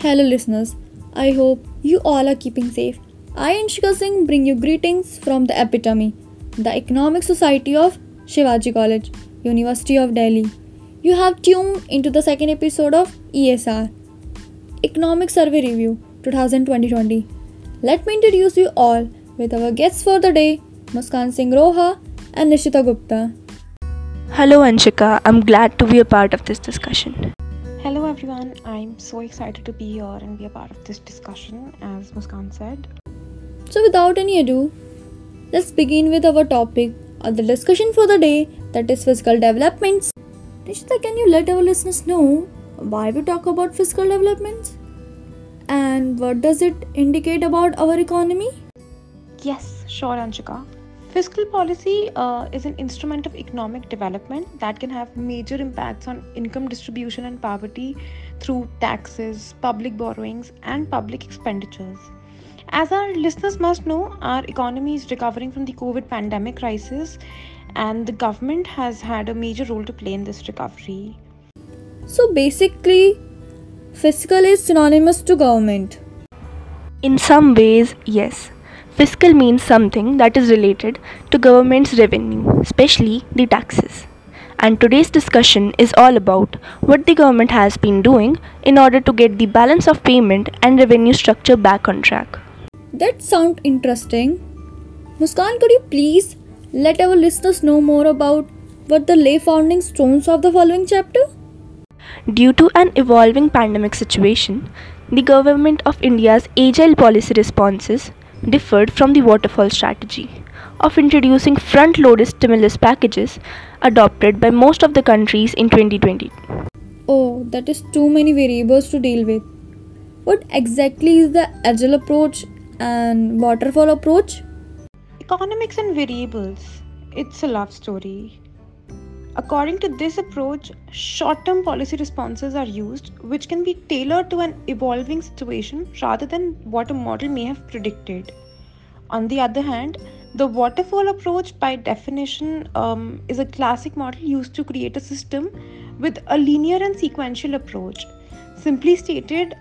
Hello, listeners. I hope you all are keeping safe. I, Anshika Singh, bring you greetings from the epitome, the Economic Society of Shivaji College, University of Delhi. You have tuned into the second episode of ESR, Economic Survey Review 2020. Let me introduce you all with our guests for the day, Muskan Singh Roha and Nishita Gupta. Hello Anshika, I'm glad to be a part of this discussion. Hello everyone, I'm so excited to be here and be a part of this discussion, as Muskan said. So, without any ado, let's begin with our topic of the discussion for the day, that is fiscal developments. Nishita, can you let our listeners know why we talk about fiscal developments? And what does it indicate about our economy? Yes, sure Anshika. Fiscal policy is an instrument of economic development that can have major impacts on income distribution and poverty through taxes, public borrowings, and public expenditures. As our listeners must know, our economy is recovering from the COVID pandemic crisis, and the government has had a major role to play in this recovery. So, basically, fiscal is synonymous to government. In some ways, yes. Fiscal means something that is related to government's revenue, especially the taxes. And today's discussion is all about what the government has been doing in order to get the balance of payment and revenue structure back on track. That sounds interesting. Muskan, could you please let our listeners know more about what the lay founding stones of the following chapter? Due to an evolving pandemic situation, the Government of India's agile policy responses differed from the waterfall strategy of introducing front-loaded stimulus packages adopted by most of the countries in 2020. Oh, that is too many variables to deal with. What exactly is the agile approach and waterfall approach? Economics and variables. It's a love story. According to this approach, short-term policy responses are used, which can be tailored to an evolving situation rather than what a model may have predicted. On the other hand, the waterfall approach, by definition, is a classic model used to create a system with a linear and sequential approach. Simply stated,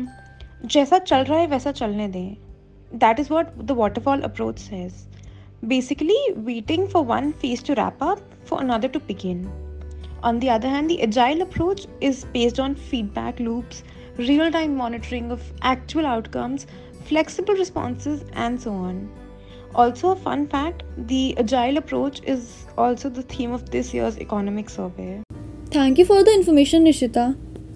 जैसा चल रहा है वैसा चलने दें. That is what the waterfall approach says. Basically, waiting for one phase to wrap up for another to begin. On the other hand, the agile approach is based on feedback loops, real-time monitoring of actual outcomes, flexible responses, and so on. Also, a fun fact, the agile approach is also the theme of this year's economic survey. Thank you for the information, Nishita.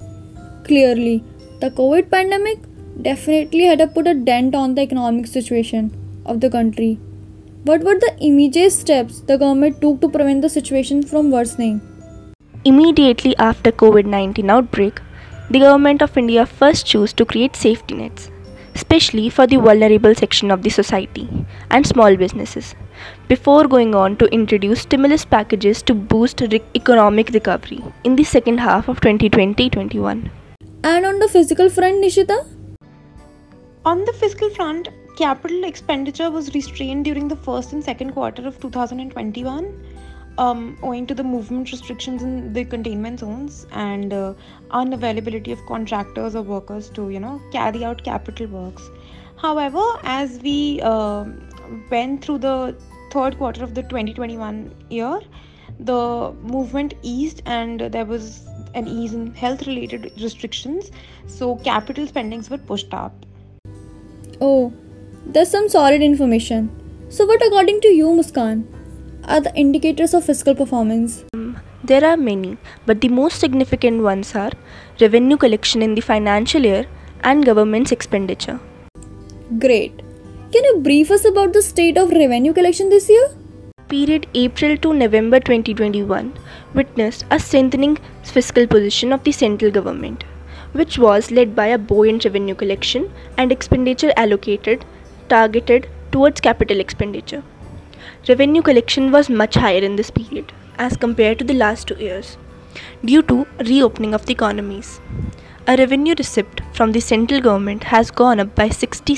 Clearly, the COVID pandemic definitely had to put a dent on the economic situation of the country. What were the immediate steps the government took to prevent the situation from worsening? Immediately after COVID-19 outbreak, the Government of India first chose to create safety nets, especially for the vulnerable section of the society and small businesses, before going on to introduce stimulus packages to boost economic recovery in the second half of 2020-21. And on the physical front, Nishita? On the fiscal front, capital expenditure was restrained during the first and second quarter of 2021, owing to the movement restrictions in the containment zones and unavailability of contractors or workers to, carry out capital works. However, as we went through the third quarter of the 2021 year, the movement eased and there was an ease in health-related restrictions, so capital spendings were pushed up. Oh, that's some solid information. So, what according to you, Muskan, are the indicators of fiscal performance? There are many, but the most significant ones are revenue collection in the financial year and government's expenditure. Great. Can you brief us about the state of revenue collection this year? Period April to November 2021 witnessed a strengthening fiscal position of the central government, which was led by a buoyant revenue collection and expenditure targeted towards capital expenditure. Revenue collection was much higher in this period as compared to the last 2 years due to reopening of the economies. A revenue receipt from the central government has gone up by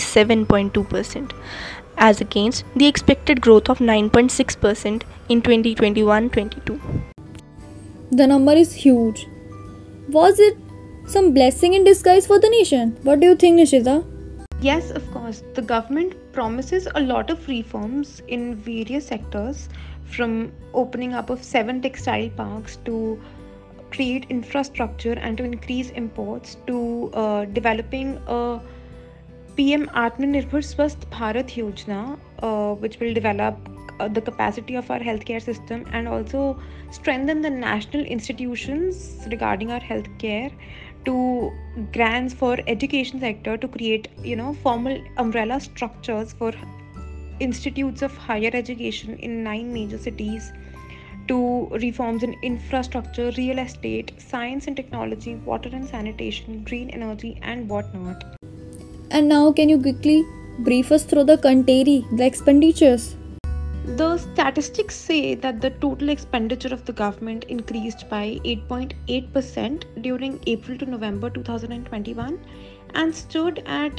67.2% as against the expected growth of 9.6% in 2021-22. The number is huge. Was it Some blessing in disguise for the nation. What do you think, Nishita? Yes, of course. The government promises a lot of reforms in various sectors, from opening up of 7 textile parks to create infrastructure and to increase imports to developing a PM Atmanirbhar Swasth Bharat Yojana, which will develop the capacity of our healthcare system and also strengthen the national institutions regarding our healthcare, to grants for education sector to create formal umbrella structures for institutes of higher education in 9 major cities, to reforms in infrastructure, real estate, science and technology, water and sanitation, green energy, and whatnot. And now, can you quickly brief us through the expenditures? The statistics say that the total expenditure of the government increased by 8.8% during April to November 2021 and stood at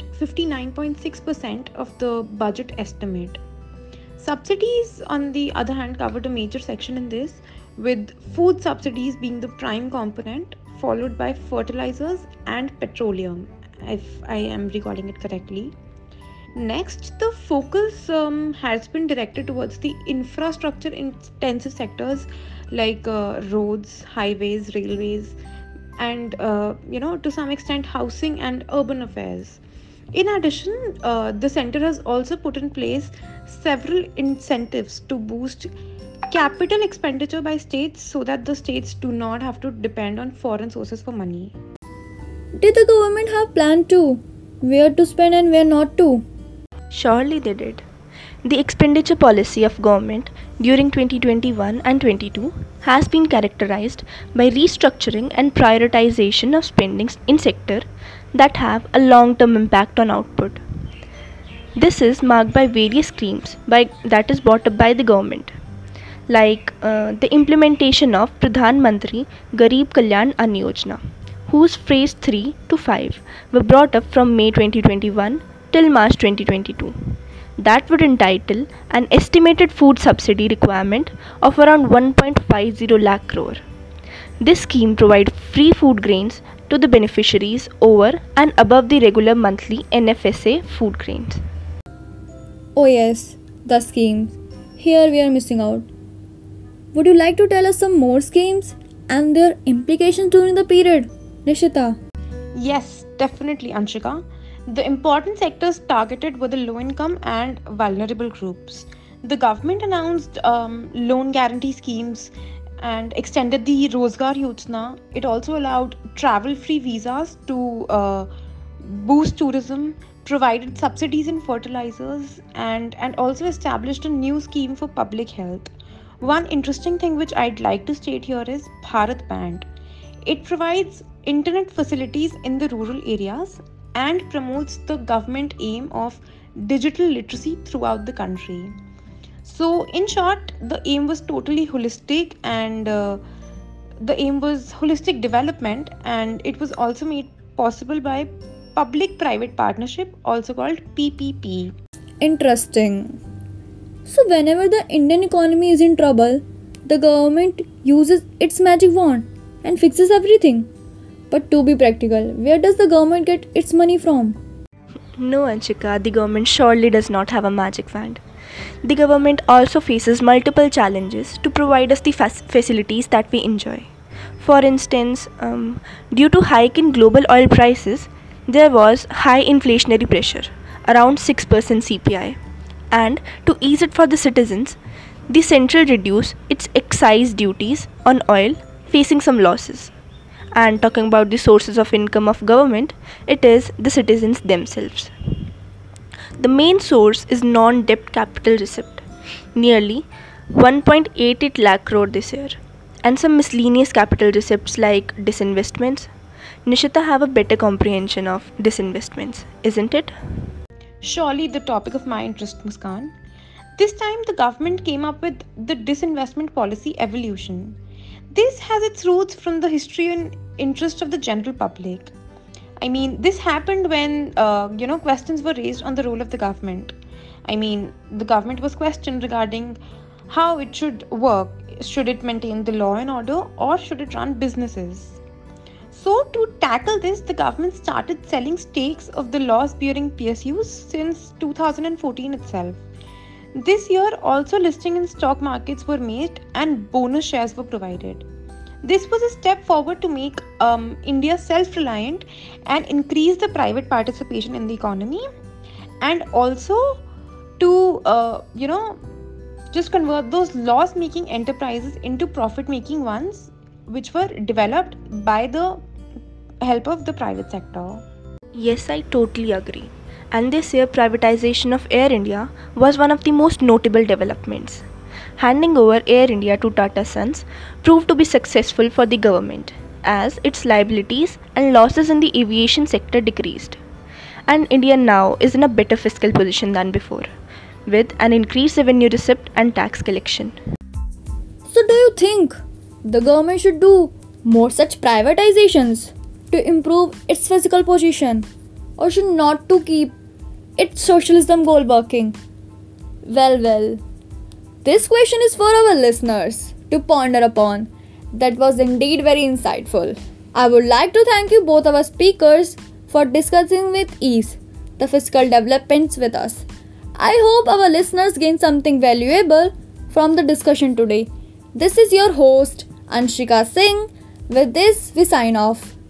59.6% of the budget estimate. Subsidies, on the other hand, covered a major section in this, with food subsidies being the prime component, followed by fertilizers and petroleum, if I am recalling it correctly. Next, the focus has been directed towards the infrastructure intensive sectors like roads, highways, railways, and to some extent housing and urban affairs. In addition, the center has also put in place several incentives to boost capital expenditure by states so that the states do not have to depend on foreign sources for money. Did the government have plan too? Where to spend and where not to? Surely they did. The expenditure policy of government during 2021 and 22 has been characterized by restructuring and prioritization of spending in sector that have a long-term impact on output. This is marked by various schemes that is brought up by the government, like the implementation of Pradhan Mantri Garib Kalyan Ann Yojana, whose phase 3 to 5 were brought up from May 2021 till March 2022. That would entitle an estimated food subsidy requirement of around 1.50 lakh crore. This scheme provides free food grains to the beneficiaries over and above the regular monthly NFSA food grains. Oh, yes, the schemes. Here we are missing out. Would you like to tell us some more schemes and their implications during the period, Nishita? Yes, definitely, Anshika. The important sectors targeted were the low income and vulnerable groups. The government announced loan guarantee schemes and extended the Rozgar Yojana. It also allowed travel free visas to boost tourism, provided subsidies in fertilizers, and also established a new scheme for public health. One interesting thing which I'd like to state here is Bharat Band. It provides internet facilities in the rural areas and promotes the government aim of digital literacy throughout the country. So, in short, the aim was totally holistic, and the aim was holistic development, and it was also made possible by public private partnership, also called PPP. Interesting. So, whenever the Indian economy is in trouble, the government uses its magic wand and fixes everything. But to be practical, where does the government get its money from? No, Anshika, the government surely does not have a magic wand. The government also faces multiple challenges to provide us the facilities that we enjoy. For instance, due to hike in global oil prices, there was high inflationary pressure, around 6% CPI. And to ease it for the citizens, the central reduced its excise duties on oil, facing some losses. And talking about the sources of income of government, it is the citizens themselves. The main source is non-debt capital receipt, nearly 1.88 lakh crore this year, and some miscellaneous capital receipts like disinvestments. Nishita have a better comprehension of disinvestments, isn't it? Surely the topic of my interest, Muskan. This time the government came up with the disinvestment policy evolution. This has its roots from the history and interest of the general public. I mean, this happened when questions were raised on the role of the government. I mean, the government was questioned regarding how it should work. Should it maintain the law and order, or should it run businesses? So, to tackle this, the government started selling stakes of the loss bearing PSUs since 2014 itself. This year, also listing in stock markets were made and bonus shares were provided. This was a step forward to make India self reliant and increase the private participation in the economy, and also to, just convert those loss making enterprises into profit making ones, which were developed by the help of the private sector. Yes, I totally agree. And this year, privatization of Air India was one of the most notable developments. Handing over Air India to Tata Sons proved to be successful for the government, as its liabilities and losses in the aviation sector decreased. And India now is in a better fiscal position than before, with an increased revenue receipt and tax collection. So, do you think the government should do more such privatizations to improve its physical position, or should not to keep its socialism goal working? Well, this question is for our listeners to ponder upon. That was indeed very insightful. I would like to thank you both our speakers for discussing with ease the fiscal developments with us. I hope our listeners gain something valuable from the discussion today. This is your host Anshika Singh. With this, we sign off.